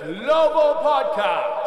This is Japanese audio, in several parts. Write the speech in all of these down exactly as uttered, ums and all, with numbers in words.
Global Podcast.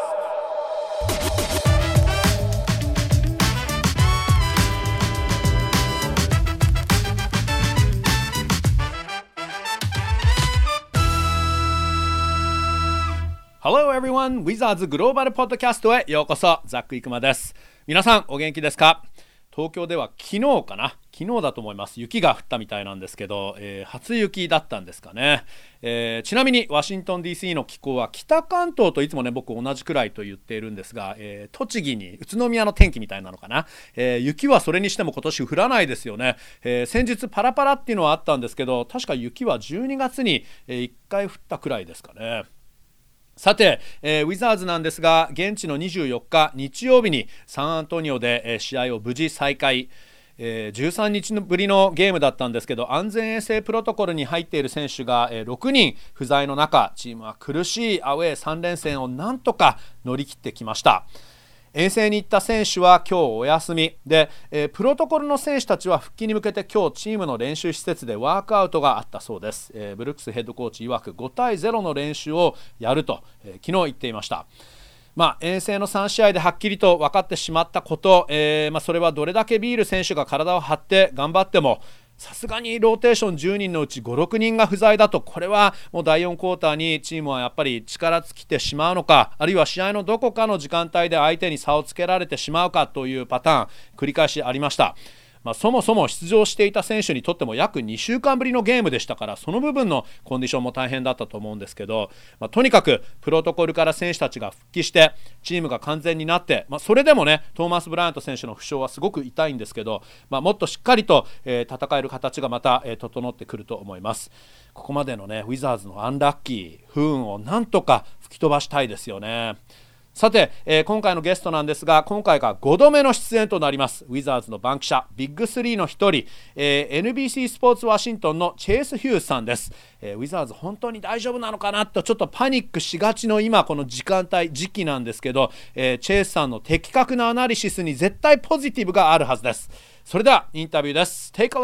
Hello everyone! ウィザーズグローバルポッドキャストへようこそ。ザック・イクマです。皆さんお元気ですか？東京では昨日かな昨日だと思います。雪が降ったみたいなんですけど、えー、初雪だったんですかね、えー、ちなみにワシントン ディーシー の気候は北関東といつもね僕同じくらいと言っているんですが、えー、栃木に宇都宮の天気みたいなのかな、えー、雪はそれにしても今年降らないですよね、えー、先日パラパラっていうのはあったんですけど、確か雪はじゅうにがつにいっかい降ったくらいですかね。さて、えー、ウィザーズなんですが、現地のにじゅうよっか日曜日にサンアントニオで、えー、試合を無事再開、えー、じゅうさんにちぶりのゲームだったんですけど、安全衛生プロトコルに入っている選手が、えー、ろくにん不在の中、チームは苦しいアウェーさん連戦をなんとか乗り切ってきました。遠征に行った選手は今日お休みで、えー、プロトコルの選手たちは復帰に向けて今日チームの練習施設でワークアウトがあったそうです。えー、ブルックスヘッドコーチ曰くごたいゼロの練習をやると、えー、昨日言っていました。まあ、遠征のさんしあいではっきりと分かってしまったこと、えーまあ、それはどれだけビール選手が体を張って頑張ってもさすがにローテーションじゅうにんのうちご、ろくにんが不在だと、これはもうだいよんクォーターにチームはやっぱり力尽きてしまうのか、あるいは試合のどこかの時間帯で相手に差をつけられてしまうかというパターン繰り返しありました。まあ、そもそも出場していた選手にとっても約にしゅうかんぶりのゲームでしたから、その部分のコンディションも大変だったと思うんですけど、まあ、とにかくプロトコルから選手たちが復帰してチームが完全になって、まあ、それでもねトーマス・ブライアント選手の負傷はすごく痛いんですけど、まあ、もっとしっかりと、えー、戦える形がまた、えー、整ってくると思います。ここまでのねウィザーズのアンラッキー不運をなんとか吹き飛ばしたいですよね。さて、えー、今回のゲストなんですが、今回がごどめの出演となりますウィザーズの番記者ビッグスリーの一人、えー、エヌビーシー スポーツワシントンのチェイス・ヒューズさんです。えー、ウィザーズ本当に大丈夫なのかなとちょっとパニックしがちの今この時間帯時期なんですけど、えー、チェイスさんの的確なアナリシスに絶対ポジティブがあるはずです。それではインタビューです。 Take a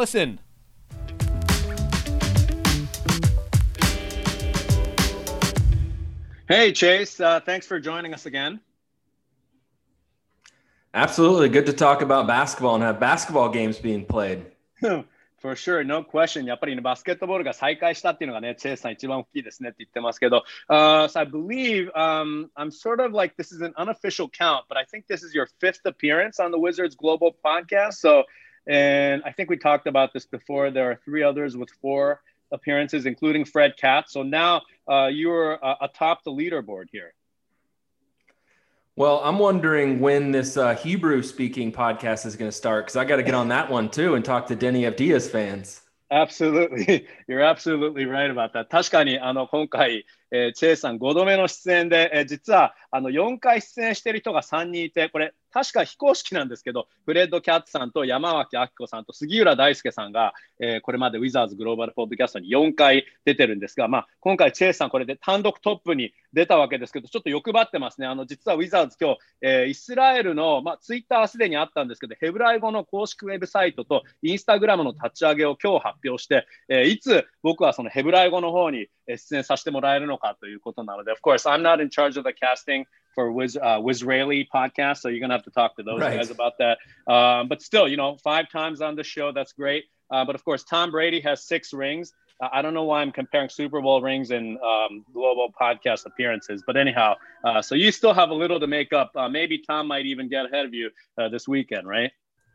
listen。Hey Chase, uh, thanks for joining us again. Absolutely. Good to talk about basketball and have basketball games being played. For sure, no question. やっぱり、ね、バスケットボールが再開したっていうのがね、チェイスさん一番大きいですねって言ってますけど、uh, so I believe um, I'm sort of like this is an unofficial count, but I think this is your fifth appearance on the Wizards Global Podcast. So, and I think we talked about this before. There are three others with four appearances, including Fred Katz. So now uh, you're uh, atop the leaderboard here. Well, I'm wondering when this uh, Hebrew-speaking podcast is going to start, because I got to get on that one too and talk to Denny Avdia's fans. Absolutely. You're absolutely right about that. 確かにあの今回、えー、チェイさんごどめの出演で、えー、実はあのよんかい出演している人がさんにんいて、これ確か非公式なんですけど、フレッド・キャッツさんと山脇明子さんと杉浦大輔さんが、えー、これまでウィザーズグローバルポッドキャストによんかい出てるんですが、まあ、今回チェイさんこれで単独トップに出たわけですけど、ちょっと欲張ってますね。あの実はウィザーズ今日、えー、イスラエルの、まあ、ツイッターすでにあったんですけど、ヘブライ語の公式ウェブサイトとインスタグラムの立ち上げを今日発表して、えー、いつ僕はそのヘブライ語の方に出演させてもらえるのかということなので、Of course, I'm not in charge of the casting for Wiz, uh, Wizraeli podcast, so you're going to have to talk to those right. guys about that. Um, but still, you know, five times on the show, that's great. Uh, but of course, Tom Brady has six rings. Uh, I don't know why I'm comparing Super Bowl rings and um, global podcast appearances. But anyhow, uh, so you still have a little to make up. Uh, maybe Tom might even get ahead of you uh, this weekend, right?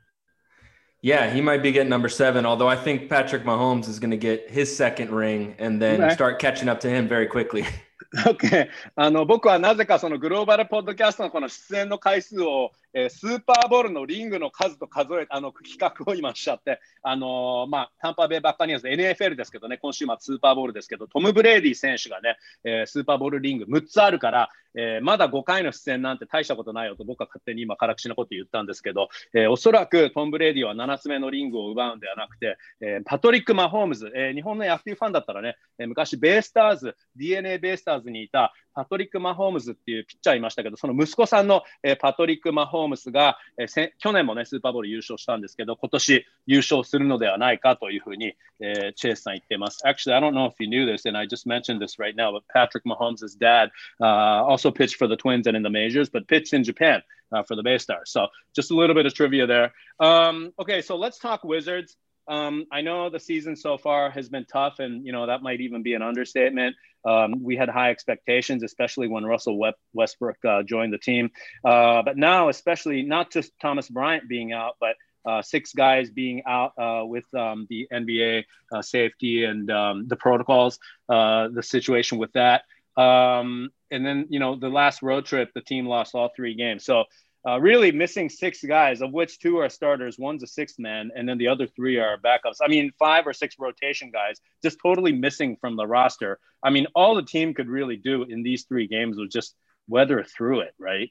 Yeah, he might be getting number seven, although I think Patrick Mahomes is going to get his second ring and then okay. start catching up to him very quickly. Okay. あの僕はなぜかそのグローバルポッドキャストのこの出演の回数を、えー、スーパーボールのリングの数と数えあの企画を今しちゃって、あのー、まあタンパベイバッカニアーズ エヌエフエル ですけどね、今週末スーパーボールですけど、トム・ブレイディ選手がね、えー、スーパーボールリングむっつあるから、えー、まだごかいの出演なんて大したことないよと僕は勝手に今辛口なこと言ったんですけど、えー、おそらくトム・ブレイディはななつめのリングを奪うんではなくて、えー、パトリック・マホームズ、えー、日本の野球ファンだったらね、えー、昔ベイスターズ ディーエヌエー ベイスターズにいたパトリック・マホームズっていうピッチャーいましたけど、その息子さんの、えー、パトリック・マホームズホームスが、えー、去年もねスーパーボウル優勝したんですけど、今年優勝するのではないかというふうに、えー、チェイスさん言っています。Actually, I don't know if you knew this, and I just mentioned this right now, but Patrick Mahomes' dad uh, also pitched for the Twins and in the majors, but pitched in Japan uh, for the Baystars. So just a little bit of trivia there. Um, okay, so let's talk Wizards. Um, I know the season so far has been tough, and you know that might even be an understatement. Um, we had high expectations, especially when Russell Westbrook uh, joined the team. Uh, but now, especially not just Thomas Bryant being out, but uh, six guys being out uh, with um, the N B A uh, safety and um, the protocols, uh, the situation with that. Um, and then, you know, the last road trip, the team lost all three games. So Uh, really missing six guys, of which two are starters. One's a sixth man, and then the other three are backups. I mean, five or six rotation guys just totally missing from the roster. I mean, all the team could really do in these three games was just weather through it, right?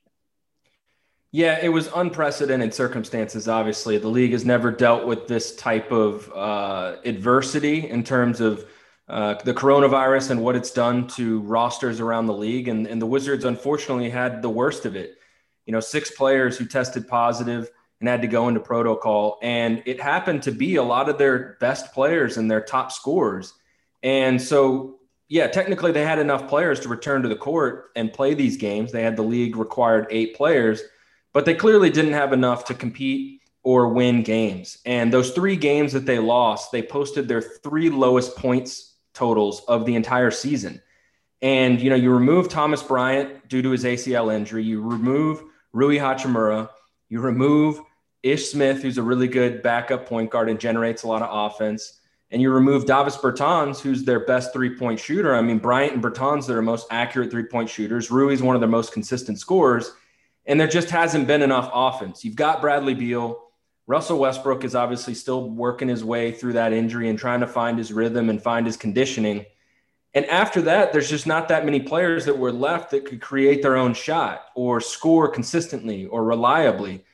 Yeah, it was unprecedented circumstances, obviously. The league has never dealt with this type of uh, adversity in terms of uh, the coronavirus and what it's done to rosters around the league. And, and the Wizards, unfortunately, had the worst of it. You know, six players who tested positive and had to go into protocol. And it happened to be a lot of their best players and their top scorers. And so, yeah, technically they had enough players to return to the court and play these games. They had the league required eight players, but they clearly didn't have enough to compete or win games. And those three games that they lost, they posted their three lowest points totals of the entire season. And, you know, you remove Thomas Bryant due to his A C L injury, you remove Rui Hachimura, you remove Ish Smith, who's a really good backup point guard and generates a lot of offense, and you remove Davis Bertans, who's their best three-point shooter. I mean, Bryant and Bertans are their most accurate three-point shooters. Rui's one of their most consistent scorers, and there just hasn't been enough offense. You've got Bradley Beal. Russell Westbrook is obviously still working his way through that injury and trying to find his rhythm and find his conditioning. And after that, there's just not that many players that were left that could create their own shot or score consistently or reliably.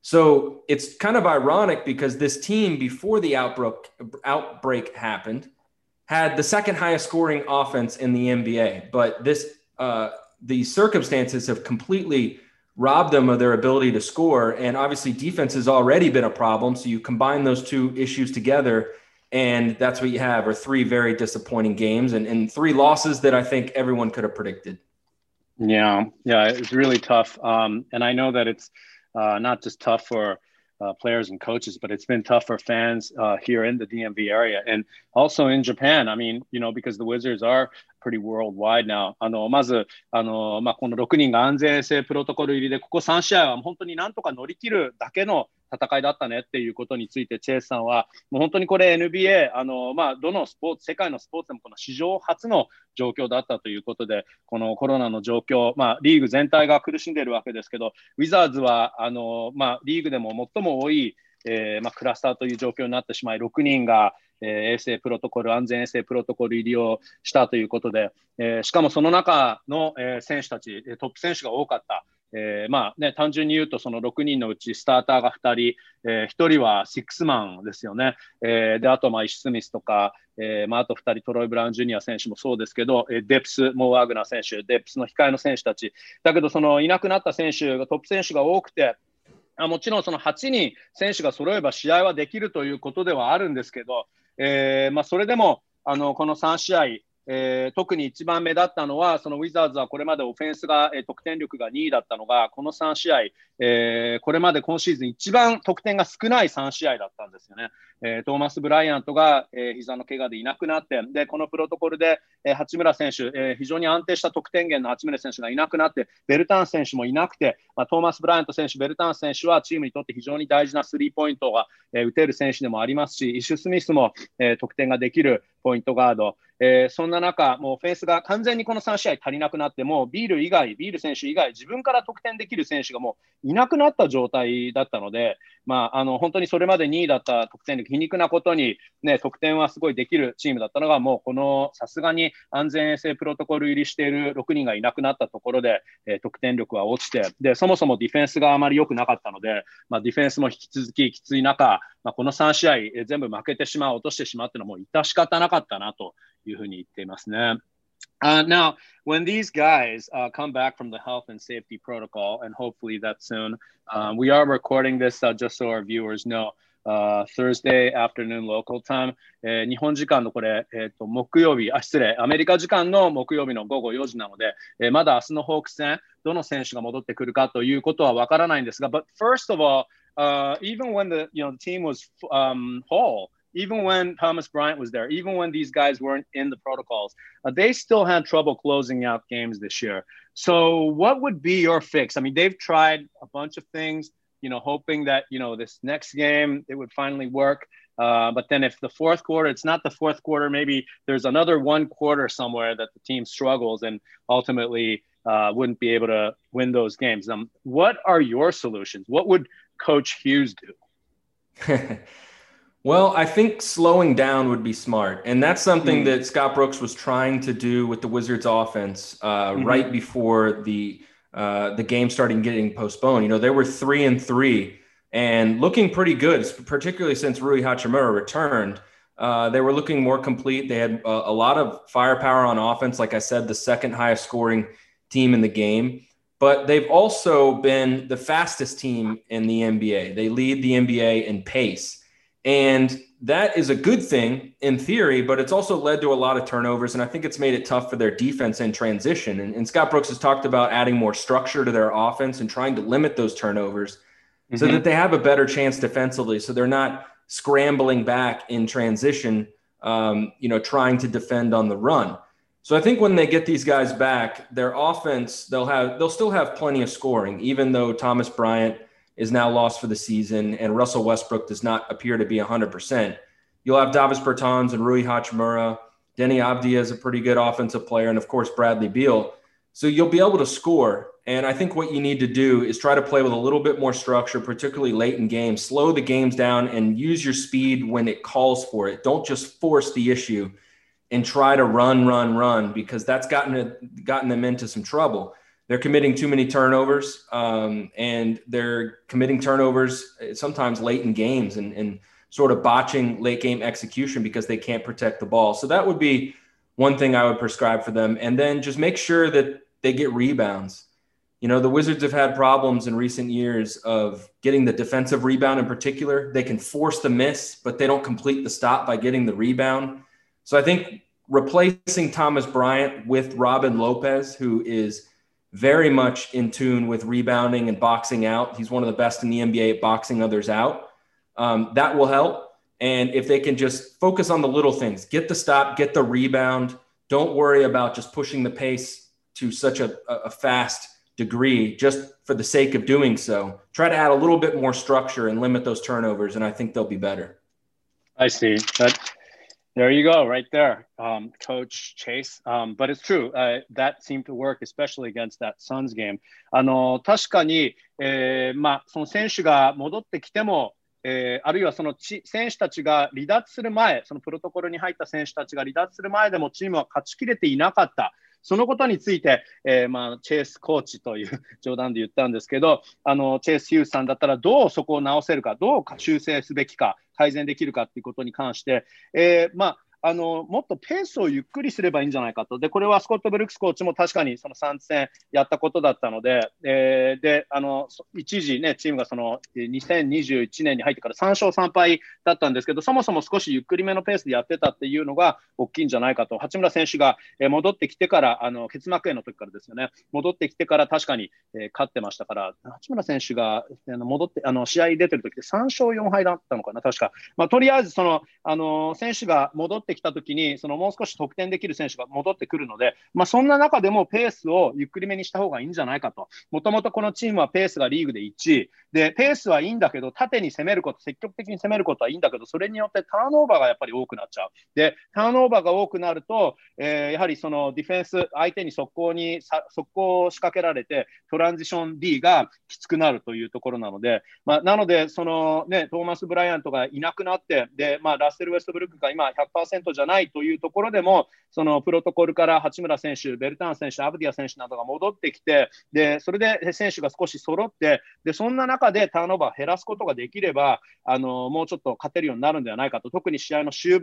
So it's kind of ironic because this team, before the outbreak, outbreak happened, had the second highest scoring offense in the N B A. But this, uh, the circumstances have completely robbed them of their ability to score. And obviously defense has already been a problem. So you combine those two issues together, and that's what you have, are three very disappointing games and, and three losses that I think everyone could have predicted. Yeah, yeah, it's really tough. Um, and I know that it's uh, not just tough for uh, players and coaches, but it's been tough for fans uh, here in the D M V area and also in Japan. I mean, you know, because the Wizards are pretty worldwide now. あの、まず、あの、まあ、このろくにんが安全衛生プロトコル入りで、ここさん試合は本当になんとか乗り切るだけの戦いだったねっていうことについて、チェイスさんは、もう本当にこれ エヌビーエー、あの、まあ、どのスポーツ、世界のスポーツでもこの史上初の状況だったということで、このコロナの状況、まあ、リーグ全体が苦しんでいるわけですけど、ウィザーズは、あの、まあ、リーグでも最も多い、えーまあ、クラスターという状況になってしまい、ろくにんが、えー、衛生プロトコル、安全衛生プロトコル入りをしたということで、えー、しかもその中の、えー、選手たち、トップ選手が多かった。えー、まあね、単純に言うとそのろくにんのうちスターターがふたり、えー、ひとりはシックスマンですよね。えー、であとまあイシュスミスとか、えーまあ、あとふたりトロイ・ブラウン・ジュニア選手もそうですけど、えー、デプス、モー・ワーグナー選手、デプスの控えの選手たちだけど、そのいなくなった選手がトップ選手が多くて、もちろんそのはちにん選手が揃えば試合はできるということではあるんですけど、えーまあ、それでもあのこのさん試合、えー、特に一番目立ったのは、そのウィザーズはこれまでオフェンスが、えー、得点力がにいだったのが、このさん試合、えー、これまで今シーズン一番得点が少ないさん試合だったんですよね。えー、トーマス・ブライアントが、えー、膝の怪我でいなくなって、でこのプロトコルで、えー、八村選手、えー、非常に安定した得点源の八村選手がいなくなって、ベルタン選手もいなくて、まあ、トーマス・ブライアント選手、ベルタン選手はチームにとって非常に大事なスリーポイントが、えー、打てる選手でもありますし、イシュ・スミスも、えー、得点ができるポイントガード、えー、そんな中、もうオフェンスが完全にこのさん試合足りなくなって、もうビール以外、ビール選手以外、自分から得点できる選手がもういなくなった状態だったので、まあ、あの本当にそれまでにいだった得点力、皮肉なことに、ね、得点はすごいできるチームだったのが、もうこのさすがに安全衛生プロトコル入りしているろくにんがいなくなったところで、えー、得点力は落ちて、でそもそもディフェンスがあまり良くなかったので、まあ、ディフェンスも引き続ききつい中、まあ、このさん試合、えー、全部負けてしまう、落としてしまうというのはもう致し方なかったなというふうに言っていますね。 Uh, now, when these guys uh, come back from the health and safety protocol, and hopefully that's soon, um, we are recording this uh, just so our viewers know, uh, Thursday afternoon local time、えー、日本時間のこれ、えー、と木曜日、あ、失礼、アメリカ時間の木曜日の午後よじなので、えー、まだ明日のホークス戦、どの選手が戻ってくるかということはわからないんですが、But first of all, uh, even when the, you know, the team was um, whole,Even when Thomas Bryant was there, even when these guys weren't in the protocols, uh, they still had trouble closing out games this year. So what would be your fix? I mean, they've tried a bunch of things, you know, hoping that, you know, this next game, it would finally work. Uh, but then if the fourth quarter, it's not the fourth quarter, maybe there's another one quarter somewhere that the team struggles and ultimately uh, wouldn't be able to win those games. Um, what are your solutions? What would Coach Hughes do? Well, I think slowing down would be smart. And that's something mm. that Scott Brooks was trying to do with the Wizards offense uh, mm-hmm. right before the uh, the game started getting postponed. You know, they were three and three and looking pretty good, particularly since Rui Hachimura returned. Uh, they were looking more complete. They had a, a lot of firepower on offense. Like I said, the second highest scoring team in the game. But they've also been the fastest team in the N B A. They lead the N B A in pace. And that is a good thing in theory, but it's also led to a lot of turnovers. And I think it's made it tough for their defense in transition. And, and Scott Brooks has talked about adding more structure to their offense and trying to limit those turnovers mm-hmm. so that they have a better chance defensively. So they're not scrambling back in transition, um, you know, trying to defend on the run. So I think when they get these guys back, their offense, they'll have, they'll still have plenty of scoring, even though Thomas Bryant is now lost for the season, and Russell Westbrook does not appear to be one hundred percent. You'll have Davis Bertans and Rui Hachimura. Denny Avdia is a pretty good offensive player, and, of course, Bradley Beal. So you'll be able to score, and I think what you need to do is try to play with a little bit more structure, particularly late in games. Slow the games down and use your speed when it calls for it. Don't just force the issue and try to run, run, run, because that's gotten, it, gotten them into some trouble. They're committing too many turnovers, um, and they're committing turnovers sometimes late in games and, and sort of botching late game execution because they can't protect the ball. So that would be one thing I would prescribe for them. And then just make sure that they get rebounds. You know, the Wizards have had problems in recent years of getting the defensive rebound in particular. They can force the miss, but they don't complete the stop by getting the rebound. So I think replacing Thomas Bryant with Robin Lopez, who is very much in tune with rebounding and boxing out. He's one of the best in the N B A at boxing others out. Um, that will help. And if they can just focus on the little things, get the stop, get the rebound, don't worry about just pushing the pace to such a, a fast degree just for the sake of doing so. Try to add a little bit more structure and limit those turnovers, and I think they'll be better. I see. That, there you go, right there, um, Coach Chase. Um, but it's true. Uh, that seemed to work, especially against that Suns game. あの、確かに、えー、まあ、その選手が戻ってきても、えー、あるいはそのち選手たちが離脱する前、そのプロトコルに入った選手たちが離脱する前でもチームは勝ちきれていなかった。そのことについて、えーまあ、チェイスコーチという冗談で言ったんですけど、あのチェイス・ヒュースさんだったらどうそこを直せるか、どう修正すべきか、改善できるかということに関して、えーまあ、あのもっとペースをゆっくりすればいいんじゃないかと。で、これはスコット・ブルックスコーチも確かにそのさん戦やったことだったので、えー、であの一時、ね、チームがそのにせんにじゅういちねんに入ってからさん勝さん敗だったんですけど、そもそも少しゆっくりめのペースでやってたっていうのが大きいんじゃないかと。八村選手が戻ってきてから、あの結膜炎の時からですよね、戻ってきてから確かに、えー、勝ってましたから、八村選手が戻ってあの試合出てる時でさん勝よん敗だったのかな、確か。まあ、とりあえずそのあの選手が戻ってきた時にそのもう少し得点できる選手が戻ってくるので、まあ、そんな中でもペースをゆっくりめにした方がいいんじゃないかと。もともとこのチームはペースがリーグでいちいで、ペースはいいんだけど縦に攻めること、積極的に攻めることはいいんだけど、それによってターンオーバーがやっぱり多くなっちゃう。でターンオーバーが多くなると、えー、やはりそのディフェンス、相手に速攻に速攻を仕掛けられてトランジション D がきつくなるというところなので、まあ、なのでその、ね、トーマス・ブライアントがいなくなってで、まあ、ラッセル・ウェストブルックが今 ひゃくパーセント じゃないというところでも、そのプロトコルから八村選手、ベルターン選手、アブディア選手などが戻ってきて、でそれで選手が少し揃って、でそんな中でターンオーバーを減らすことができれば、あのもうちょっと勝てるようになるんではないかと。特に試合の終盤、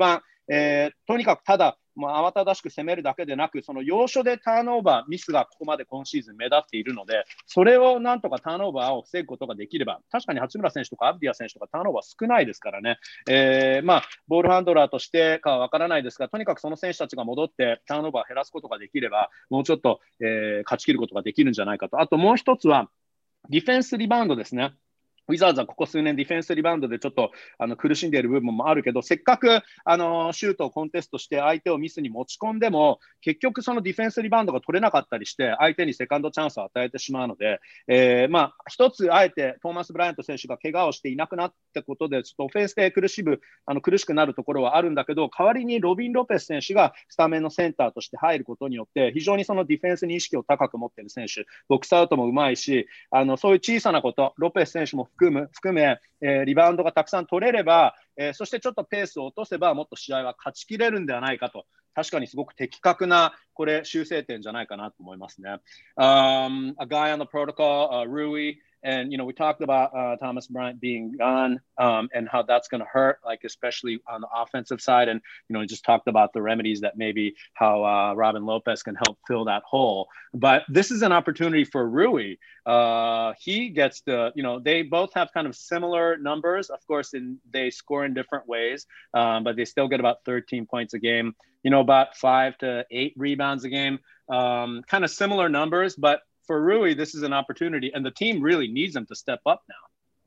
えー、とにかくただもう慌ただしく攻めるだけでなく、その要所でターンオーバーミスがここまで今シーズン目立っているので、それをなんとかターンオーバーを防ぐことができれば、確かに八村選手とかアブディア選手とかターンオーバー少ないですからね、えー、まあボールハンドラーとしてかは分からないですが、とにかくその選手たちが戻ってターンオーバーを減らすことができれば、もうちょっと、えー、勝ち切ることができるんじゃないかと。あともう一つはディフェンスリバウンドですね。ウィザーズはここ数年ディフェンスリバウンドでちょっとあの苦しんでいる部分もあるけど、せっかくあのシュートをコンテストして相手をミスに持ち込んでも、結局そのディフェンスリバウンドが取れなかったりして相手にセカンドチャンスを与えてしまうので、えー、まあ一つあえてトーマス・ブライアント選手が怪我をしていなくなったことでちょっとオフェンスで苦しむあの苦しくなるところはあるんだけど、代わりにロビン・ロペス選手がスタメンのセンターとして入ることによって非常にそのディフェンスに意識を高く持っている選手、ボックスアウトもうまいし、あのそういう小さなこと、ロペス選手も含む含めえー、リバウンドがたくさん取れれば、えー、そしてちょっとペースを落とせばもっと試合は勝ちきれるんではないかと、確かにすごく的確なこれ修正点じゃないかなと思いますね。Um, a guy on the protocol, uh, Rui, and you know we talked about uh, Thomas Bryant being gone um, and how that's going to hurt, like especially on the offensive side, and you know we just talked about the remedies that maybe how uh, Robin Lopez can help fill that hole. But this is an opportunity for Rui. Uh, he gets the, you know, they both have kind of similar numbers, of course, in they score in different ways, um, but they still get about thirteen points a game. You know, about five to eight rebounds a game, um, kind of similar numbers, but for Rui, this is an opportunity, and the team really needs him to step up now.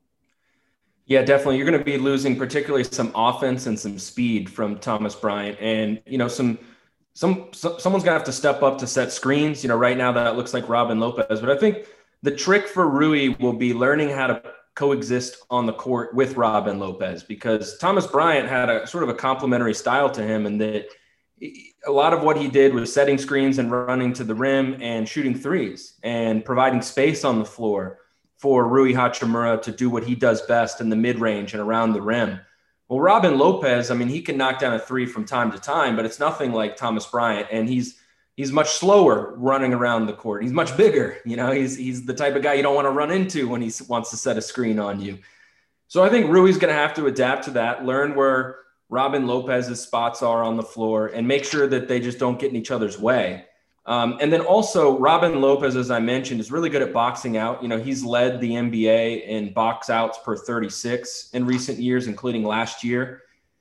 Yeah, definitely. You're going to be losing particularly some offense and some speed from Thomas Bryant, and you know, some some, some someone's going to have to step up to set screens. You know, right now that looks like Robin Lopez, but I think the trick for Rui will be learning how to coexist on the court with Robin Lopez, because Thomas Bryant had a sort of a complementary style to him, and that a lot of what he did was setting screens and running to the rim and shooting threes and providing space on the floor for Rui Hachimura to do what he does best in the mid-range and around the rim. Well, Robin Lopez, I mean, he can knock down a three from time to time, but it's nothing like Thomas Bryant, and he's he's much slower running around the court. He's much bigger. You know, he's he's the type of guy you don't want to run into when he wants to set a screen on you. So I think Rui's going to have to adapt to that, learn where Robin Lopez's spots are on the floor, and make sure that they just don't get in each other's way. Um, and then also Robin Lopez, as I mentioned, is really good at boxing out. You know, he's led the N B A in box outs per thirty-six in recent years, including last year.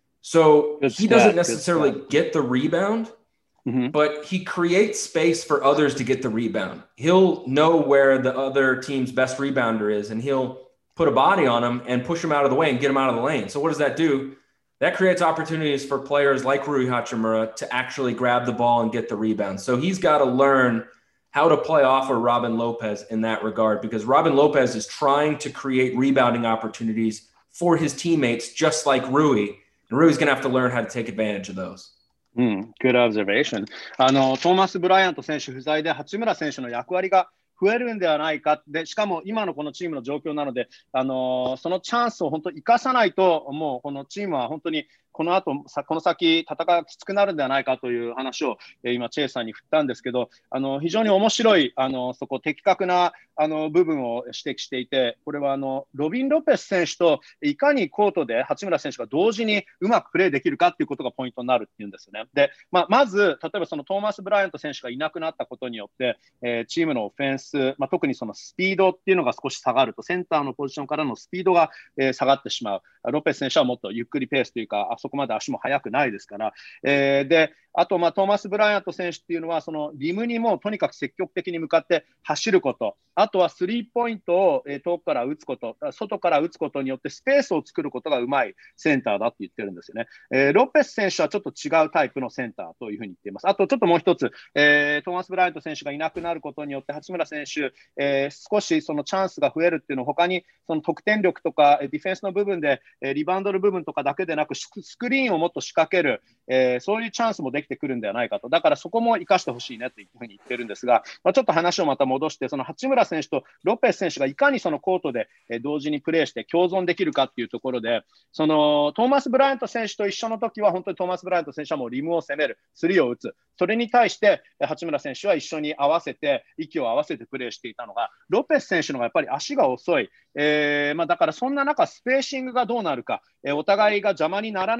So good he stat, doesn't necessarily get the rebound, mm-hmm. but he creates space for others to get the rebound. He'll know where the other team's best rebounder is, and he'll put a body on him and push him out of the way and get him out of the lane. So what does that do? That creates opportunities for players like Rui Hachimura to actually grab the ball and get the rebound. So he's got to learn how to play off of Robin Lopez in that regard, because Robin Lopez is trying to create rebounding opportunities for his teammates, just like Rui. And Rui's going to have to learn how to take advantage of those. うん、good observation. あのトーマス・ブライアント選手不在で八村選手の役割が増えるんではないか。でしかも今のこのチームの状況なので、あのー、そのチャンスを本当に生かさないと、もうこのチームは本当にこの後この先戦いがきつくなるんではないかという話を、えー、今チェイさんに振ったんですけど、あの非常に面白いあのそこ的確なあの部分を指摘していて、これはあのロビン・ロペス選手といかにコートで八村選手が同時にうまくプレーできるかっていうことがポイントになるっていうんですよね。で、まあ、まず例えばそのトーマス・ブライアント選手がいなくなったことによって、えー、チームのオフェンス、まあ、特にそのスピードっていうのが少し下がると、センターのポジションからのスピードが、えー、下がってしまう。ロペス選手はもっとゆっくりペースというか、あそこまで足も速くないですから、えー、であと、まあ、トーマス・ブライアント選手っていうのはそのリムにもとにかく積極的に向かって走ること、あとはスリーポイントを、えー、遠くから打つこと、外から打つことによってスペースを作ることがうまいセンターだって言ってるんですよね。えー、ロペス選手はちょっと違うタイプのセンターというふうに言っています。あとちょっともう一つ、えー、トーマス・ブライアント選手がいなくなることによって八村選手、えー、少しそのチャンスが増えるっていうのは他にその得点力とかディフェンスの部分で、えー、リバウンドの部分とかだけでなくスクリーンをもっと仕掛ける、えー、そういうチャンスもできてくるんではないかと。だからそこも生かしてほしいねというふうに言ってるんですが、まあ、ちょっと話をまた戻して、その八村選手とロペス選手がいかにそのコートで同時にプレーして共存できるかっていうところで、そのトーマス・ブライアント選手と一緒の時は本当にトーマス・ブライアント選手はもうリムを攻める、スリーを打つ、それに対して八村選手は一緒に合わせて息を合わせてプレーしていたのが、ロペス選手のがやっぱり足が遅い、えーまあ、だからそんな中スペーシングがどうなるか、えー、お互いが邪魔になら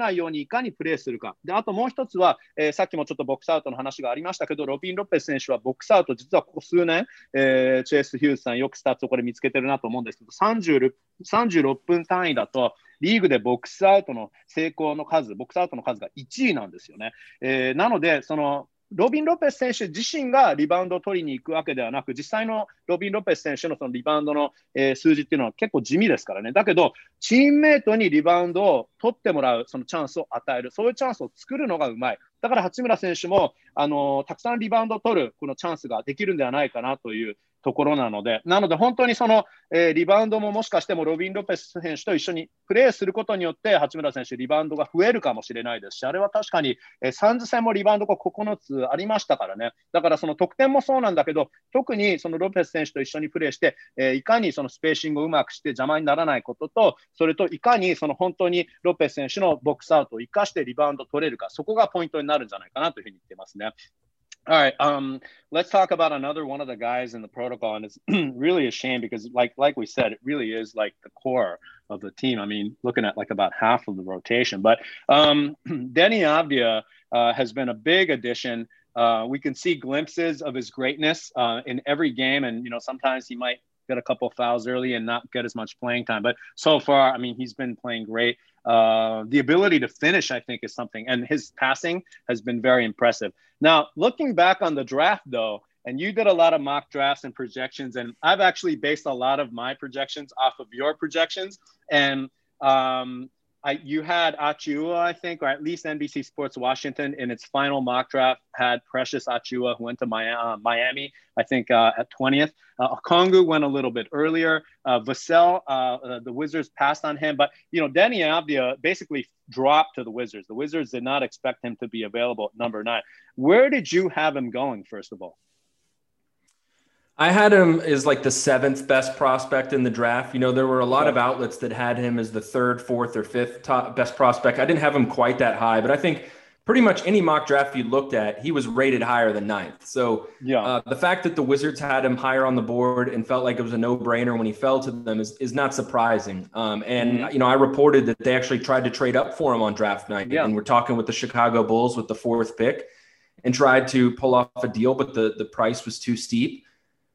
ないようにいかにプレーするか。で、あともう一つは、えー、さっきもちょっとボックスアウトの話がありましたけど、ロビン・ロペス選手はボックスアウト、実はここ数年、えー、チェイス・ヒューズさんよくスタッツをこれ見つけてるなと思うんですけど、さんじゅうろっぷん単位だと、リーグでボックスアウトの成功の数、ボックスアウトの数がいちいなんですよね。えー、なので、その、ロビン・ロペス選手自身がリバウンドを取りに行くわけではなく、実際のロビン・ロペス選手のそのリバウンドの、えー、数字っていうのは結構地味ですからね。だけど、チームメイトにリバウンドを取ってもらう、そのチャンスを与える、そういうチャンスを作るのがうまい。だから八村選手も、あのー、たくさんリバウンドを取るこのチャンスができるんではないかなというところなので、なので本当にその、えー、リバウンドももしかしてもロビン・ロペス選手と一緒にプレーすることによって、八村選手、リバウンドが増えるかもしれないですし、あれは確かに、えー、サンズ戦もリバウンドがここのつありましたからね。だからその得点もそうなんだけど、特にそのロペス選手と一緒にプレーして、えー、いかにそのスペーシングをうまくして邪魔にならないことと、それといかにその本当にロペス選手のボックスアウトを生かしてリバウンド取れるか、そこがポイントになるんじゃないかなというふうに言ってますね。All right, um, let's talk about another one of the guys in the protocol, and it's really a shame because, like, like we said, it really is like the core of the team. I mean, looking at like about half of the rotation, but um, Denny Avdia uh, has been a big addition. Uh, we can see glimpses of his greatness uh, in every game, and you know, sometimes he might get a couple of fouls early and not get as much playing time. But so far, I mean, he's been playing great. Uh, the ability to finish, I think, is something, and his passing has been very impressive. Now, looking back on the draft, though, and you did a lot of mock drafts and projections, and I've actually based a lot of my projections off of your projections. And um, I, you had Achiuwa, I think, or at least N B C Sports Washington in its final mock draft had Precious Achiuwa, who went to Miami, I think, uh, at twentieth. Uh, Okongwu went a little bit earlier. Uh, Vassell, uh, uh, the Wizards passed on him. But, you know, Denny Avdia basically dropped to the Wizards. The Wizards did not expect him to be available at number nine. Where did you have him going, first of all? I had him as like the seventh best prospect in the draft. You know, there were a lot of outlets that had him as the third, fourth, or fifth top best prospect. I didn't have him quite that high, but I think pretty much any mock draft you looked at, he was rated higher than ninth. So yeah, uh, the fact that the Wizards had him higher on the board and felt like it was a no-brainer when he fell to them is, is not surprising. Um, and, mm-hmm. you know, I reported that they actually tried to trade up for him on draft night. Yeah. And we're talking with the Chicago Bulls with the fourth pick and tried to pull off a deal, but the, the price was too steep.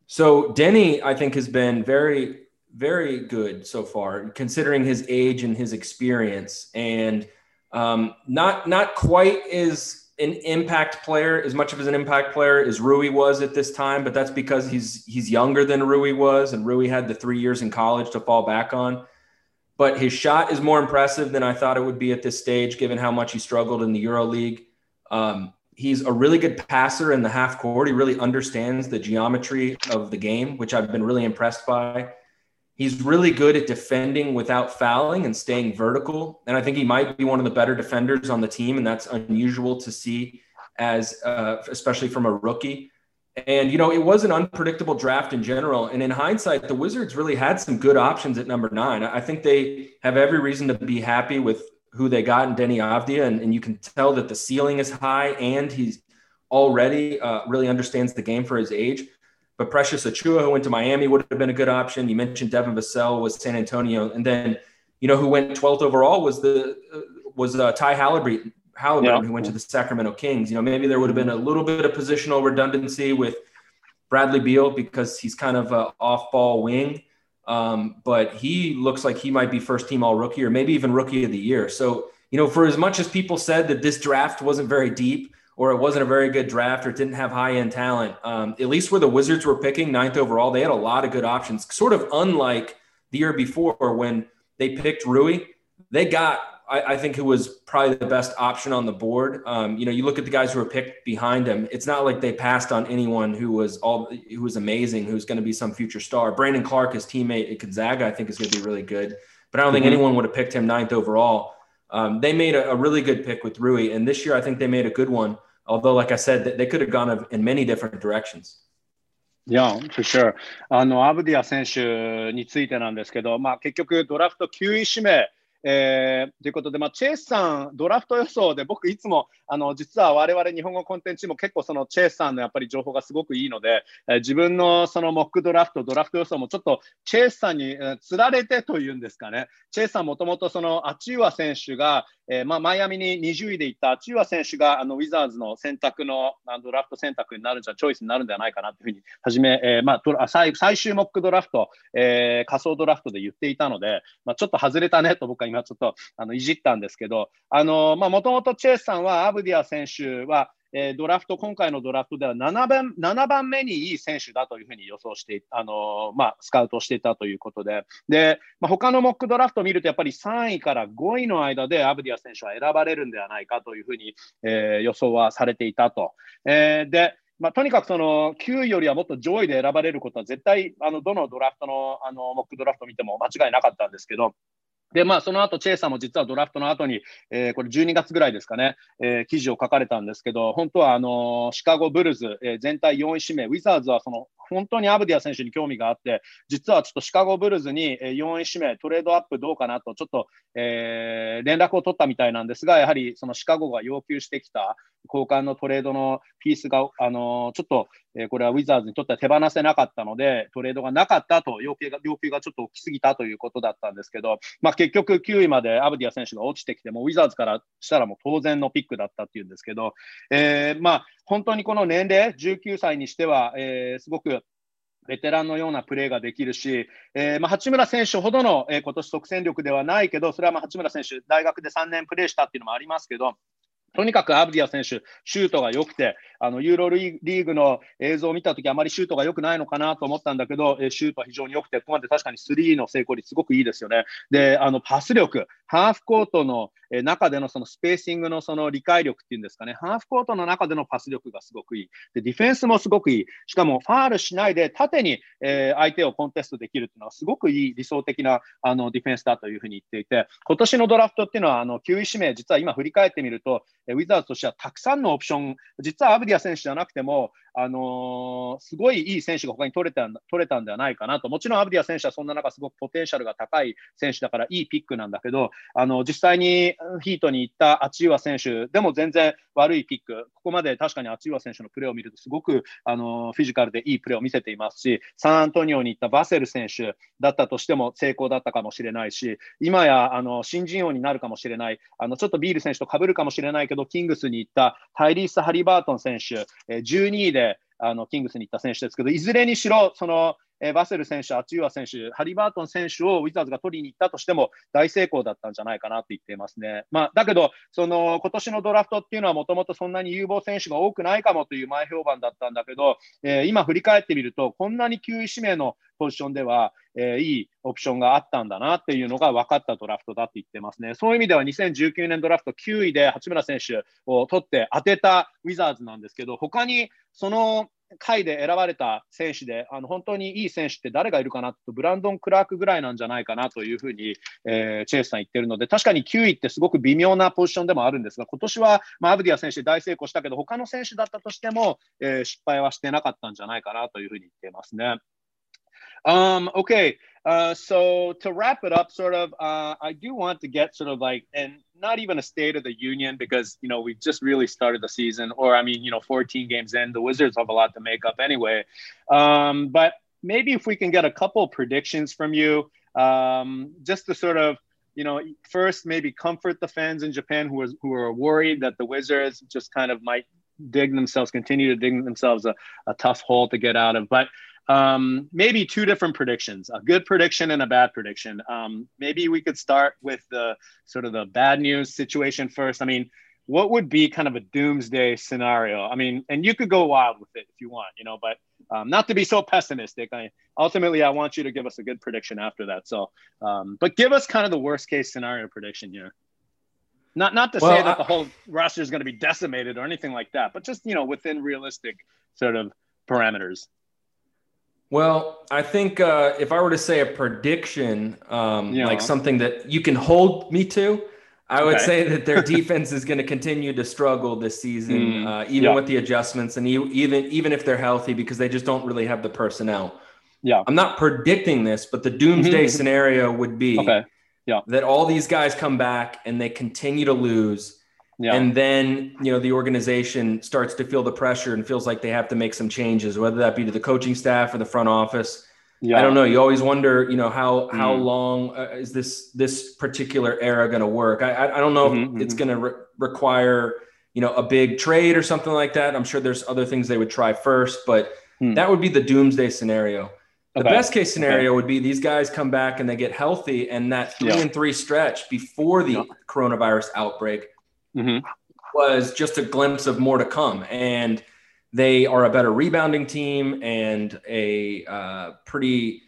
So Denny, I think, has been very, very good so far, considering his age and his experience, and um, not not quite as an impact player, as much of as an impact player as Rui was at this time. But that's because he's he's younger than Rui was, and Rui had the three years in college to fall back on. But his shot is more impressive than I thought it would be at this stage, given how much he struggled in the EuroLeague. Um, He's a really good passer in the half court. He really understands the geometry of the game, which I've been really impressed by. He's really good at defending without fouling and staying vertical. And I think he might be one of the better defenders on the team. And that's unusual to see as, uh, especially from a rookie. And, you know, it was an unpredictable draft in general. And in hindsight, the Wizards really had some good options at number nine. I think they have every reason to be happy with who they got in Denny Avdia, and, and you can tell that the ceiling is high, and he's already uh, really understands the game for his age. But Precious Achiuwa, who went to Miami, would have been a good option. You mentioned Devin Vassell was San Antonio, and then, you know, who went twelfth overall was the uh, was uh, Ty Halliburton, Halliburton yeah. who went to the Sacramento Kings. You know, maybe there would have been a little bit of positional redundancy with Bradley Beal because he's kind of an off-ball wing. Um, but he looks like he might be first team all rookie or maybe even rookie of the year. So, you know, for as much as people said that this draft wasn't very deep or it wasn't a very good draft or it didn't have high end talent, um, at least where the Wizards were picking ninth overall, they had a lot of good options, sort of unlike the year before when they picked Rui. They got, I, I think, who was probably the best option on the board. Um, you know, you look at the guys who were picked behind him. It's not like they passed on anyone who was all who was amazing, who's going to be some future star. Brandon Clark, his teammate at Gonzaga, I think is going to be really good. But I don't mm-hmm. think anyone would have picked him ninth overall. Um, they made a, a really good pick with Rui, and this year I think they made a good one. Although, like I said, they could have gone in many different directions. Yeah, for sure. あのアブディア選手についてなんですけど、まあ結局ドラフトきゅうい指名。 えー、ということで、まあ、チェイスさん、ドラフト予想で、僕いつも、あの、実は我々日本語コンテンツも結構そのチェイスさんのやっぱり情報がすごくいいので、えー、自分のそのモックドラフト、ドラフト予想もちょっとチェイスさんに、えー、つられてというんですかね。チェイスさんもともとそのアチューア選手が、えー、まあ、マイアミににじゅういで行ったアチューア選手が、あの、ウィザーズの選択の、あのドラフト選択になるんじゃ、チョイスになるんではないかなというふうに、はじめ、えー、まあ、最、最終モックドラフト、えー、仮想ドラフトで言っていたので、まあ、ちょっと外れたねと僕は今ちょっと、あの、いじったんですけど、あの、まあ、もともとチェイスさんは、アブディア選手は、えー、ドラフト、今回のドラフトではななばん、ななばんめにいい選手だというふうに予想して、あのー、まあ、スカウトしていたということで、で、まあ、他のモックドラフトを見ると、やっぱりさんいからごいの間でアブディア選手は選ばれるんではないかというふうに、えー、予想はされていたと。えー、で、まあ、とにかくそのきゅういよりはもっと上位で選ばれることは絶対、あの、どのドラフトの、あの、モックドラフトを見ても間違いなかったんですけど、で、まあ、その後、チェイさんも実はドラフトの後に、えー、これじゅうにがつぐらいですかね、えー、記事を書かれたんですけど、本当は、あのー、シカゴブルズ、えー、全体よんい指名、ウィザーズはその、本当にアブディア選手に興味があって、実はちょっとシカゴブルズによんい指名、トレードアップどうかなと、ちょっと、えー、連絡を取ったみたいなんですが、やはりそのシカゴが要求してきた交換のトレードのピースが、あのー、ちょっと、えー、これはウィザーズにとっては手放せなかったので、トレードがなかったと、要求が、要求がちょっと大きすぎたということだったんですけど、まあ、結局きゅういまでアブディア選手が落ちてきても、ウィザーズからしたらもう当然のピックだったっていうんですけど、えー、まあ、本当にこの年齢、じゅうきゅうさいにしては、えー、すごくベテランのようなプレーができるし、えーまあ、八村選手ほどの、えー、今年即戦力ではないけど、それはまあ八村選手、大学でさんねんプレーしたっていうのもありますけど、とにかくアブディア選手、シュートが良くて、あのユーロリーグの映像を見たとき、あまりシュートが良くないのかなと思ったんだけど、シュートは非常に良くて、ここまで確かにスリーの成功率、すごくいいですよね。で、あのパス力、ハーフコートの中でのそのスペーシングのその理解力っていうんですかね、ハーフコートの中でのパス力がすごくいい。で、ディフェンスもすごくいい。しかも、ファールしないで縦に、えー、相手をコンテストできるっていうのは、すごくいい理想的なあのディフェンスだというふうに言っていて、今年のドラフトっていうのは、あのきゅうい指名、実は今振り返ってみると、ウィザーズとしてはたくさんのオプション、実はアブディア選手じゃなくても、あのー、すごいいい選手が他に取れた取れたんではないかなと。もちろんアブディア選手はそんな中すごくポテンシャルが高い選手だからいいピックなんだけど、あの実際にヒートに行ったアチューア選手でも全然悪いピック、ここまで確かにアチューア選手のプレーを見るとすごくあのフィジカルでいいプレーを見せていますし、サンアントニオに行ったバセル選手だったとしても成功だったかもしれないし、今やあの新人王になるかもしれない、あのちょっとビール選手と被るかもしれないけど、キングスに行ったタイリース・ハリバートン選手、じゅうにいであのキングスに行った選手ですけど、いずれにしろそのえー、バセル選手、アチューア選手、ハリバートン選手をウィザーズが取りに行ったとしても大成功だったんじゃないかなと言っていますね。まあ、だけど、その今年のドラフトっていうのはもともとそんなに有望選手が多くないかもという前評判だったんだけど、えー、今振り返ってみると、こんなにきゅうい指名のポジションでは、えー、いいオプションがあったんだなっていうのが分かったドラフトだって言ってますね。そういう意味ではにせんじゅうきゅうねんドラフトきゅういで八村選手を取って当てたウィザーズなんですけど、他にその回で選ばれた選手で、あの本当にいい選手って誰がいるかなと、ブランドン・クラークぐらいなんじゃないかなというふうに、えー、チェイスさん言ってるので、確かにきゅういってすごく微妙なポジションでもあるんですが、今年は、まあ、アブディア選手大成功したけど、他の選手だったとしても、えー、失敗はしてなかったんじゃないかなというふうに言っていますね。Um, okay, uh, so to wrap it up, sort of, uh, I do want to get sort of like, and not even a State of the Union because, you know, we just really started the season, or I mean, you know, fourteen games in, the Wizards have a lot to make up anyway. Um, but maybe if we can get a couple predictions from you, um, just to sort of, you know, first maybe comfort the fans in Japan who are, who are worried that the Wizards just kind of might dig themselves, continue to dig themselves a, a tough hole to get out of. But Um, maybe two different predictions, a good prediction and a bad prediction. Um, maybe we could start with the sort of the bad news situation first. I mean, what would be kind of a doomsday scenario? I mean, and you could go wild with it if you want, you know, but um, not to be so pessimistic. I, ultimately, I want you to give us a good prediction after that. So, um, but give us kind of the worst case scenario prediction here. Not not to well, say that I, the whole roster is going to be decimated or anything like that, but just, you know, within realistic sort of parameters. Well, I think uh, if I were to say a prediction, um, yeah. like something that you can hold me to, I would okay. say that their defense is going to continue to struggle this season, mm, uh, even yeah. with the adjustments and even even if they're healthy, because they just don't really have the personnel. Yeah, I'm not predicting this, but the doomsday scenario would be okay. Yeah. that all these guys come back and they continue to lose. Yeah. And then, you know, the organization starts to feel the pressure and feels like they have to make some changes, whether that be to the coaching staff or the front office. Yeah. I don't know. You always wonder, you know, how how Mm. long uh, is this this particular era going to work? I I, I don't know Mhm, if it's mhm. going to re- require, you know, a big trade or something like that. I'm sure there's other things they would try first, but Hmm. that would be the doomsday scenario. The Okay. best case scenario Okay. would be these guys come back and they get healthy, and that three Yeah. and three stretch before the Yeah. coronavirus outbreak Mhm. was just a glimpse of more to come. And they are a better rebounding team and a uh, pretty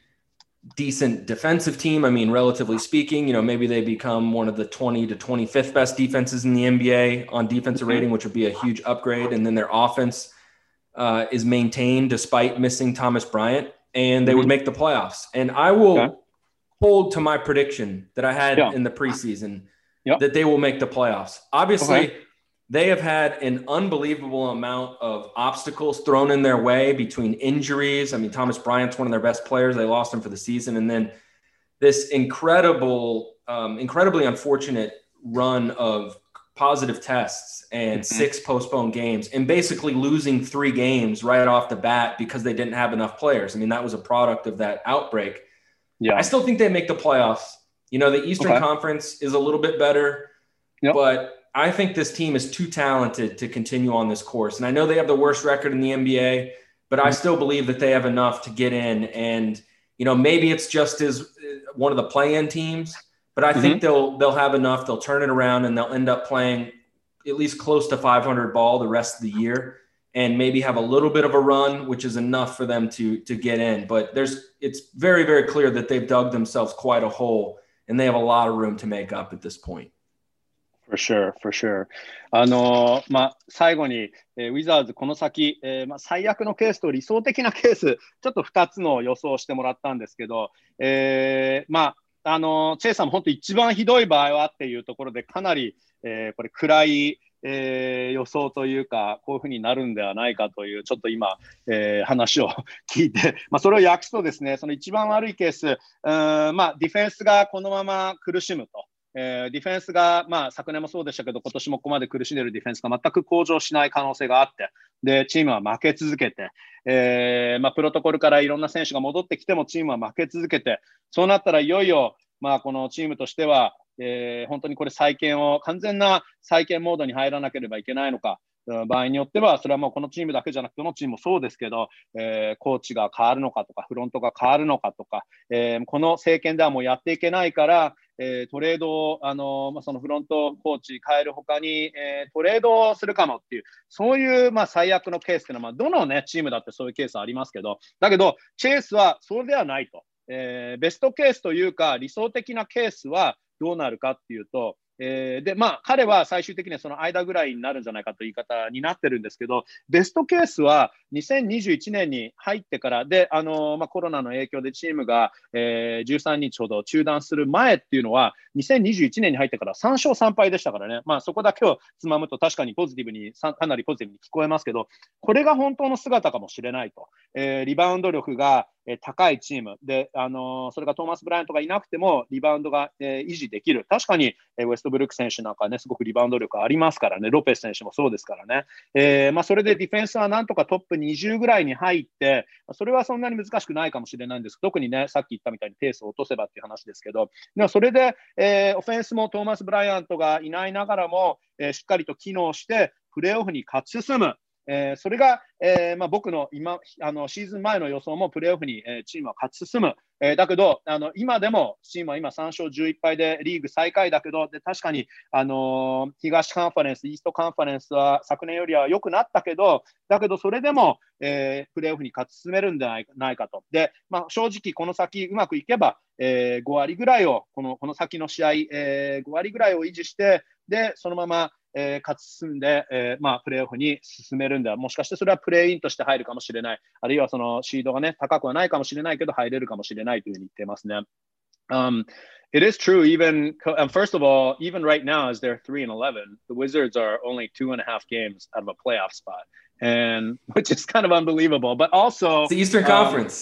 decent defensive team. I mean, relatively speaking, you know, maybe they become one of the twenty to twenty-fifth best defenses in the N B A on defensive Mhm. rating, which would be a huge upgrade. And then their offense uh, is maintained despite missing Thomas Bryant, and they would Mhm. make the playoffs. And I will Okay. hold to my prediction that I had Yeah. in the preseason Yeah. that they will make the playoffs. Obviously, Okay. they have had an unbelievable amount of obstacles thrown in their way between injuries. I mean, Thomas Bryant's one of their best players. They lost him for the season. And then this incredible, um, incredibly unfortunate run of positive tests and Mhm. six postponed games, and basically losing three games right off the bat because they didn't have enough players. I mean, that was a product of that outbreak. Yeah. I still think they make the playoffs. You know, the Eastern Okay. Conference is a little bit better, Yep. but I think this team is too talented to continue on this course. And I know they have the worst record in the N B A, but I still believe that they have enough to get in. And, you know, maybe it's just as one of the play-in teams, but I think Mhm. they'll they'll have enough. They'll turn it around and they'll end up playing at least close to five hundred ball the rest of the year, and maybe have a little bit of a run, which is enough for them to to get in. But there's it's very, very clear that they've dug themselves quite a hole, and they have a lot of room to make up at this point. For sure, for sure. あのーまあ、最後に、えーウィザーズこの先、えーまあ、最悪のケースと理想的なケース、ちょっとふたつの予想をしてもらったんですけど、えーまあ、あのーチェイさんも本当一番ひどい場合はっていうところでかなり、えーこれ暗い、えー予想というか、こういうふうになるんではないかという、ちょっと今、えー話を聞いて、まあ、それを訳すとですね、その一番悪いケース、うーんまあ、ディフェンスがこのまま苦しむと。えーディフェンスが、まあ、昨年もそうでしたけど、今年もここまで苦しんでいるディフェンスが全く向上しない可能性があって、で、チームは負け続けて、えーまあ、プロトコルからいろんな選手が戻ってきてもチームは負け続けて、そうなったらいよいよ、まあ、このチームとしては、えー本当にこれ再建を、完全な再建モードに入らなければいけないのか、場合によっては、それはもうこのチームだけじゃなくて、どのチームもそうですけど、えーコーチが変わるのかとか、フロントが変わるのかとか、えーこの政権ではもうやっていけないから、えートレードを、あのまあ、そのフロントコーチ変えるほかに、えートレードをするかもっていう、そういう、まあ、最悪のケースっていうのは、まあ、どの、ね、チームだってそういうケースありますけど、だけど、チェイスはそれではないと。えーベストケースというか、理想的なケースはどうなるかっていうと、えーで、まあ、彼は最終的にはその間ぐらいになるんじゃないかという言い方になってるんですけど、ベストケースはにせんにじゅういちねんに入ってからで、あのーまあ、コロナの影響でチームが、えーじゅうさんにちほど中断する前っていうのは、にせんにじゅういちねんに入ってからさん勝さん敗でしたからね、まあ、そこだけをつまむと確かにポジティブに、かなりポジティブに聞こえますけど、これが本当の姿かもしれないと。えーリバウンド力がえー高いチームで、あのーそれがトーマス・ブライアントがいなくてもリバウンドが、えー維持できる。確かに、えーウェストブルック選手なんかね、すごくリバウンド力ありますからね、ロペス選手もそうですからね。えーまあ、それでディフェンスはなんとかトップにじゅうぐらいに入って、それはそんなに難しくないかもしれないんです。特にね、さっき言ったみたいにペースを落とせばっていう話ですけど、でもそれで、えーオフェンスもトーマス・ブライアントがいないながらも、えーしっかりと機能して、プレーオフに勝ち進む。えーそれが、えーまあ、僕の今あのシーズン前の予想もプレーオフに、えーチームは勝ち進む、えーだけどあの今でもチームは今さん勝じゅういっ敗でリーグ最下位だけど、で確かに、あのー東カンファレンス、イーストカンファレンスは昨年よりは良くなったけど、だけどそれでも、えープレーオフに勝ち進めるんじゃないないかと。で、まあ、正直この先うまくいけば、えーご割ぐらいをこの、この先の試合、えーご割ぐらいを維持して、でそのままえー勝ち進んで、えーまあ、プレーオフに進めるんだ。もしかしてそれはプレーインとして入るかもしれない。あるいはそのシードがね、高くはないかもしれないけど、入れるかもしれないというふうに言っていますね。Um, it is true, even, um, first of all, even right now, as they're three and eleven, the Wizards are only two and a half games out of a playoff spot, and which is kind of unbelievable. But also, It's the Eastern um, Conference.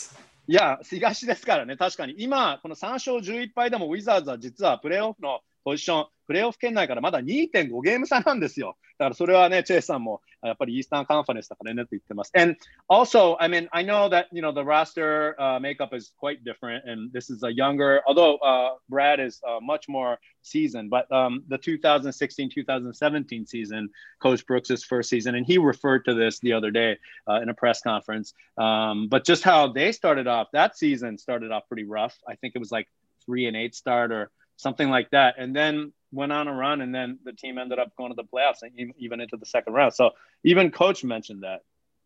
いや、東ですからね、確かに。今、このさん勝じゅういっぱいでも、ウィザーズは実はプレーオフのポジション、プレーオフ圏内からまだ にてんご ゲーム差なんですよ。だからそれはね、チェイスさんもやっぱりイースタンカンファレンスだからねって言ってます。And also, I mean, I know that, you know, the roster uh, makeup is quite different, and this is a younger, although uh, Brad is uh, much more seasoned, but um, the twenty sixteen twenty seventeen season, Coach Brooks' first season, and he referred to this the other day uh, in a press conference. Um, but just how they started off, that season started off pretty rough. I think it was like three and eight start or something like that. And then went on a run, and then the team ended up going to the playoffs and even into the second round. So even Coach mentioned that.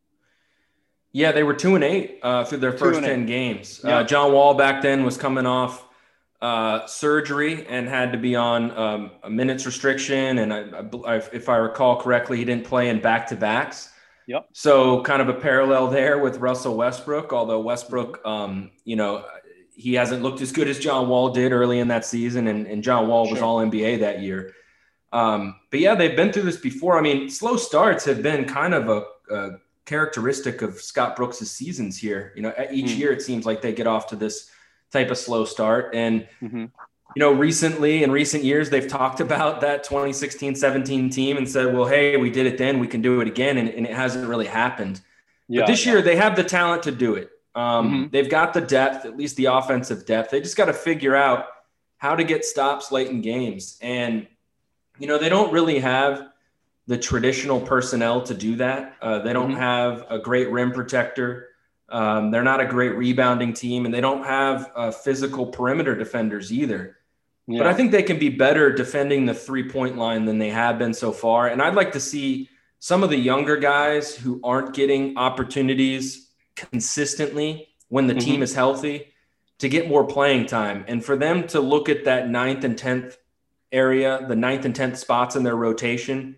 Yeah, they were two and eight uh, through their first ten games. Yeah. Uh, John Wall back then was coming off uh, surgery and had to be on um, a minutes restriction. And I, I, if I recall correctly, he didn't play in back-to-backs. Yep. So kind of a parallel there with Russell Westbrook, although Westbrook, um, you know, he hasn't looked as good as John Wall did early in that season. And, and John Wall was sure. all N B A that year. Um, but yeah, they've been through this before. I mean, slow starts have been kind of a, a characteristic of Scott Brooks' seasons here. You know, each mm. year it seems like they get off to this type of slow start. And, mm-hmm. you know, recently in recent years, they've talked about that twenty sixteen seventeen team and said, well, hey, we did it then, we can do it again. And, and it hasn't really happened. Yeah, but this yeah. year they have the talent to do it. Um, mm-hmm. They've got the depth, at least the offensive depth. They just got to figure out how to get stops late in games. And, you know, they don't really have the traditional personnel to do that. Uh, they don't mm-hmm. have a great rim protector. Um, they're not a great rebounding team, and they don't have uh, physical perimeter defenders either. Yeah. But I think they can be better defending the three-point line than they have been so far. And I'd like to see some of the younger guys who aren't getting opportunities consistently when the mm-hmm. team is healthy to get more playing time, and for them to look at that ninth and tenth area, the ninth and tenth spots in their rotation,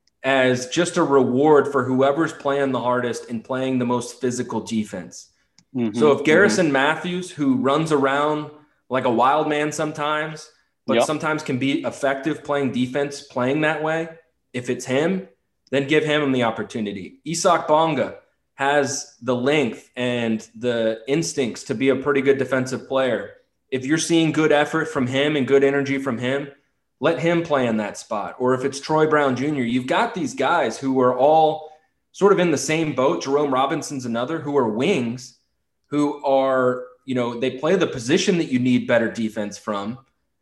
as just a reward for whoever's playing the hardest and playing the most physical defense. Mm-hmm. So if Garrison mm-hmm. Matthews, who runs around like a wild man sometimes, but yep. sometimes can be effective playing defense, playing that way, if it's him, then give him the opportunity. Isak Bonga has the length and the instincts to be a pretty good defensive player. If you're seeing good effort from him and good energy from him, let him play in that spot. Or if it's Troy Brown Junior, you've got these guys who are all sort of in the same boat. Jerome Robinson's another, who are wings, who are, you know, they play the position that you need better defense from.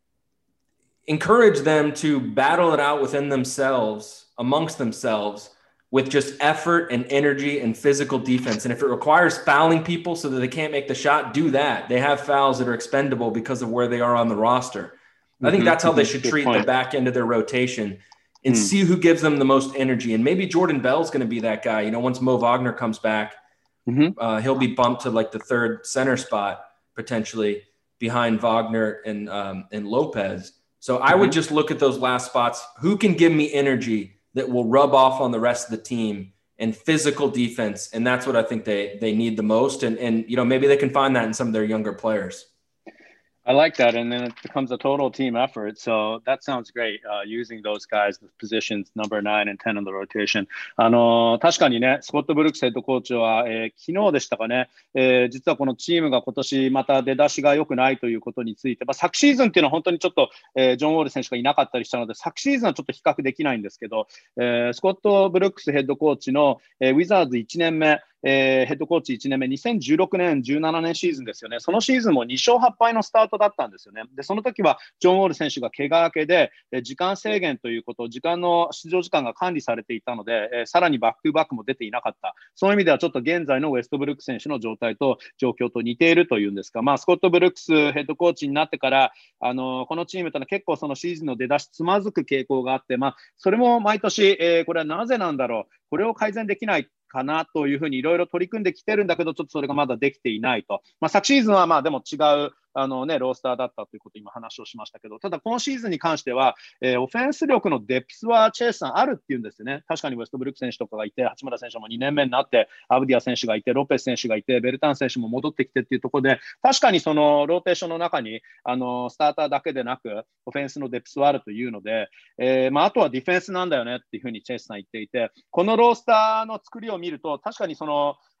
Encourage them to battle it out within themselves, amongst themselves, with just effort and energy and physical defense. And if it requires fouling people so that they can't make the shot, do that. They have fouls that are expendable because of where they are on the roster. I think that's how they should treat the back end of their rotation and mm. see who gives them the most energy. And maybe Jordan Bell's going to be that guy. You know, once Mo Wagner comes back, mm-hmm. uh, he'll be bumped to like the third center spot, potentially behind Wagner and, um, and Lopez. So mm-hmm. I would just look at those last spots. Who can give me energy that will rub off on the rest of the team and physical defense? And that's what I think they, they need the most. And, and, you know, maybe they can find that in some of their younger players. I like that. And then it becomes a total team effort. So that sounds great. Uh, using those guys, the positions number nine and ten in the rotation. あのー、確かにね、スコット・ブルックスヘッドコーチは、えー、昨日でしたかね、えー、実はこのチームが今年また出だしが良くないということについて、まあ、昨シーズンっていうのは本当にちょっと、えー、ジョン・ウォール選手がいなかったりしたので、昨シーズンはちょっと比較できないんですけど、えー、スコット・ブルックスヘッドコーチの、えー、ウィザーズいちねんめ、えー、ヘッドコーチいちねんめ、にせんじゅうろくねん、じゅうななねんシーズンですよね。そのシーズンもに勝はっ敗のスタートだったんですよね。で、その時はジョン・ウォール選手が怪我明けで、えー、時間制限ということ、時間の出場時間が管理されていたので、えー、さらにバックトゥバックも出ていなかった。そういう意味ではちょっと現在のウェストブルック選手の状態と状況と似ているというんですか、まあ、スコット・ブルックスヘッドコーチになってから、あのー、このチームというのは結構そのシーズンの出だしつまずく傾向があって、まあ、それも毎年、えー、これはなぜなんだろう、これを改善できないかなというふうにいろいろ取り組んできてるんだけど、ちょっとそれがまだできていないと。まあ、昨シーズンはまあでも違うあの、ね、ロースターだったということを今話をしましたけど、ただ今シーズンに関しては、えー、オフェンス力のデプスはチェイスさんあるっていうんですよね。確かにウェストブルック選手とかがいて、八村選手もにねんめになって、アブディア選手がいて、ロペス選手がいて、ベルタン選手も戻ってきてっていうところで、確かにそのローテーションの中にあのスターターだけでなく、オフェンスのデプスはあるというので、えーまあ、あとはディフェンスなんだよねっていうふうにチェイスさん言っていて、このロースターの作りを見ると、確かにその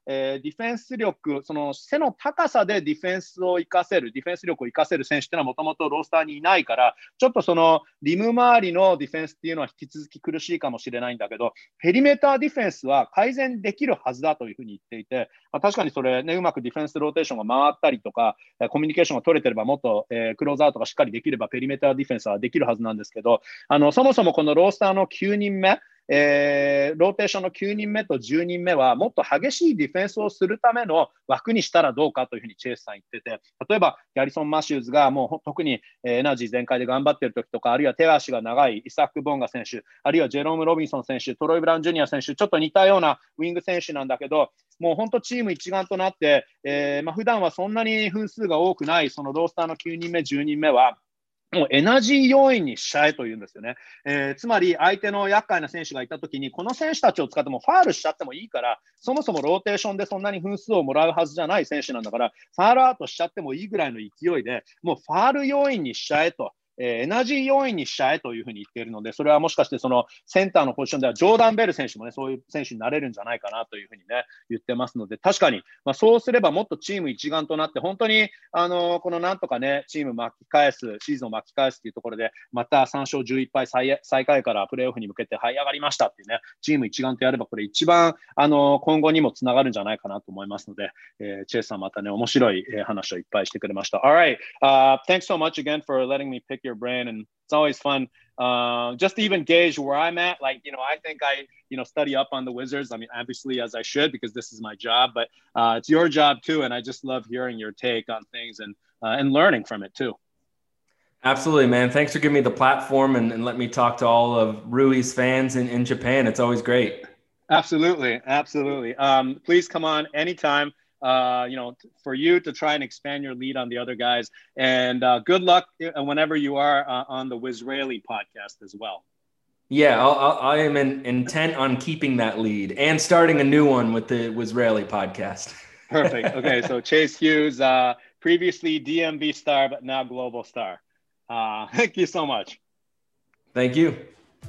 えー、ディフェンス力、その背の高さでディフェンスを生かせる、ディフェンス力を生かせる選手っていうのはもともとロースターにいないから、ちょっとそのリム周りのディフェンスっていうのは引き続き苦しいかもしれないんだけど、ペリメーターディフェンスは改善できるはずだというふうに言っていて、まあ、確かにそれね、うまくディフェンスローテーションが回ったりとか、コミュニケーションが取れてればもっと、えー、クローズアウトがしっかりできればペリメーターディフェンスはできるはずなんですけど、あのそもそもこのロースターのきゅうにんめ、えー、ローテーションのきゅうにんめとじゅうにんめはもっと激しいディフェンスをするための枠にしたらどうかというふうにチェイスさん言ってて、例えばギャリソン・マシューズがもう特にエナジー全開で頑張っている時とか、あるいは手足が長いイサック・ボンガ選手、あるいはジェローム・ロビンソン選手、トロイ・ブラウン・ジュニア選手、ちょっと似たようなウィング選手なんだけど、もう本当チーム一丸となって、えーまあ、普段はそんなに分数が多くないそのロースターのきゅうにんめ、じゅうにんめはもうエナジー要員にしちゃえというんですよね。えー、つまり相手の厄介な選手がいたときに、この選手たちを使ってもファールしちゃってもいいから、そもそもローテーションでそんなに分数をもらうはずじゃない選手なんだから、ファールアウトしちゃってもいいぐらいの勢いで、もうファール要員にしちゃえと。えー、エナジー要員にしちゃえというふうに言っているので、それはもしかしてそのセンターのポジションではジョーダン・ベル選手もね、そういう選手になれるんじゃないかなというふうにね、言ってますので、確かに、まあ、そうすればもっとチーム一丸となって、本当に、あのー、このなんとかね、チーム巻き返す、シーズンを巻き返すというところで、またさん勝じゅういっ敗最、最下位からプレーオフに向けて這い上がりましたっていうね、チーム一丸とやれば、これ一番、あのー、今後にもつながるんじゃないかなと思いますので、えー、チェイスさんまたね、面白い話をいっぱいしてくれました。Alright,、uh, thanks so much again for letting me pick your brain and it's always fun uh, just to even gauge where I'm at. Like, you know, I think I, you know, study up on the Wizards. I mean, obviously, as I should, because this is my job, but uh, it's your job too. And I just love hearing your take on things and uh, and learning from it too. Absolutely, man. Thanks for giving me the platform and, and let me talk to all of Rui's fans in, in Japan. It's always great. Absolutely. Absolutely. Um, please come on anytime. Uh, you know, for you to try and expand your lead on the other guys. And uh, good luck whenever you are uh, on the Wizraeli podcast as well. Yeah, I'll, I'll, I am in, intent on keeping that lead and starting a new one with the Wizraeli podcast. Perfect. Okay, so Chase Hughes, uh, previously D M V star, but now global star. Uh, thank you so much. Thank you.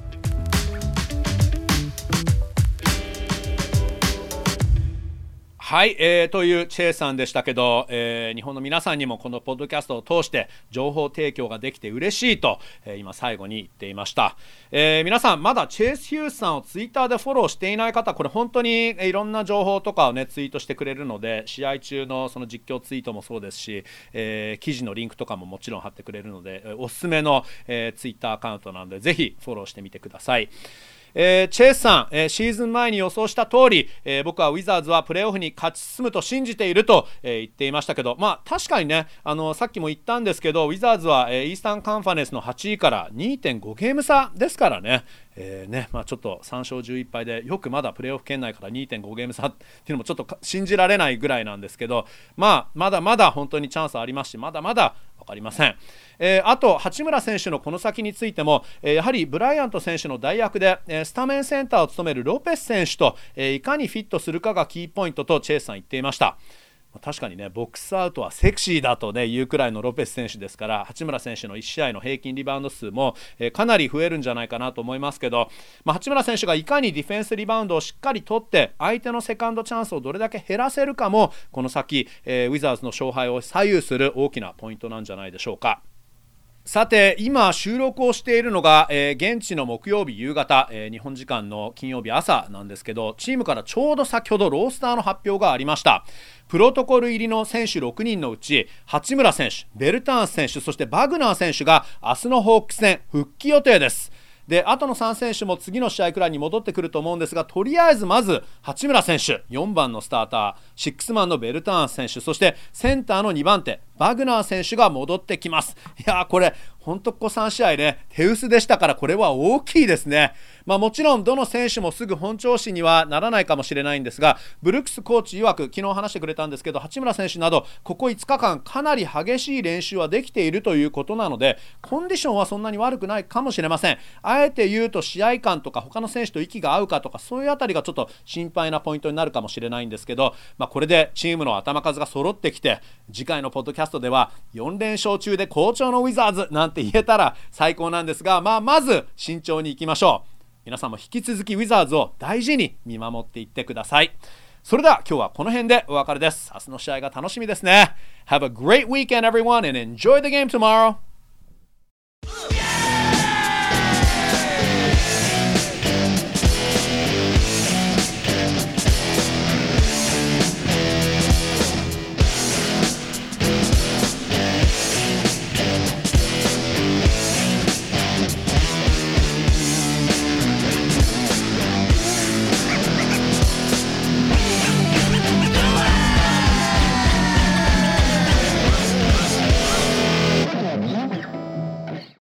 はい、えー、というチェイさんでしたけど、えー、日本の皆さんにもこのポッドキャストを通して情報提供ができて嬉しいと、えー、今最後に言っていました、えー、皆さんまだチェイス・ヒュースさんをツイッターでフォローしていない方、これ本当にいろんな情報とかをねツイートしてくれるので、試合中のその実況ツイートもそうですし、えー、記事のリンクとかももちろん貼ってくれるので、おすすめの、えー、ツイッターアカウントなのでぜひフォローしてみてください。えー、チェイスさん、えー、シーズン前に予想した通り、えー、僕はウィザーズはプレーオフに勝ち進むと信じていると、えー、言っていましたけど、まあ確かにね、あのさっきも言ったんですけど、ウィザーズは、えー、イースタンカンファレンスのはちいから にてんご ゲーム差ですからね、えーねまあ、ちょっとさん勝じゅういっ敗でよくまだプレーオフ圏内から にてんご ゲーム差っていうのもちょっと信じられないぐらいなんですけど、まあまだまだ本当にチャンスありますし、まだまだ分かりません。えー、あと八村選手のこの先についても、えー、やはりブライアント選手の代役で、えー、スタメンセンターを務めるロペス選手と、えー、いかにフィットするかがキーポイントとチェイスさん言っていました。確かにね、ボックスアウトはセクシーだと、ね、言うくらいのロペス選手ですから、八村選手のいち試合の平均リバウンド数も、えー、かなり増えるんじゃないかなと思いますけど、まあ、八村選手がいかにディフェンスリバウンドをしっかり取って相手のセカンドチャンスをどれだけ減らせるかもこの先、えー、ウィザーズの勝敗を左右する大きなポイントなんじゃないでしょうか。さて今収録をしているのが、えー、現地の木曜日夕方、えー、日本時間の金曜日朝なんですけど、チームからちょうど先ほどロースターの発表がありました。プロトコル入りの選手ろくにんのうち八村選手、ベルターンス選手、そしてバグナー選手が明日のホークス戦復帰予定です。で、あとのさん選手も次の試合くらいに戻ってくると思うんですが、とりあえずまず八村選手よんばんのスターター、シックスマンのベルターンス選手、そしてセンターのにばん手バグナー選手が戻ってきます。いやーこれ本当ここさん試合ね手薄でしたから、これは大きいですね。まあもちろんどの選手もすぐ本調子にはならないかもしれないんですが、ブルックスコーチ曰く昨日話してくれたんですけど、八村選手などここいつかかんかなり激しい練習はできているということなので、コンディションはそんなに悪くないかもしれません。あえて言うと試合感とか他の選手と息が合うかとか、そういうあたりがちょっと心配なポイントになるかもしれないんですけど、まあ、これでチームの頭数が揃ってきて、次回のポッドキャストではよん連勝中で好調のウィザーズなんて言えたら最高なんですが、まあ、まず慎重にいきましょう。皆さんも引き続きウィザーズを大事に見守っていってください。 それでは今日はこの辺でお別れです。明日の試合が楽しみですね。Have a great weekend everyone and enjoy the game tomorrow.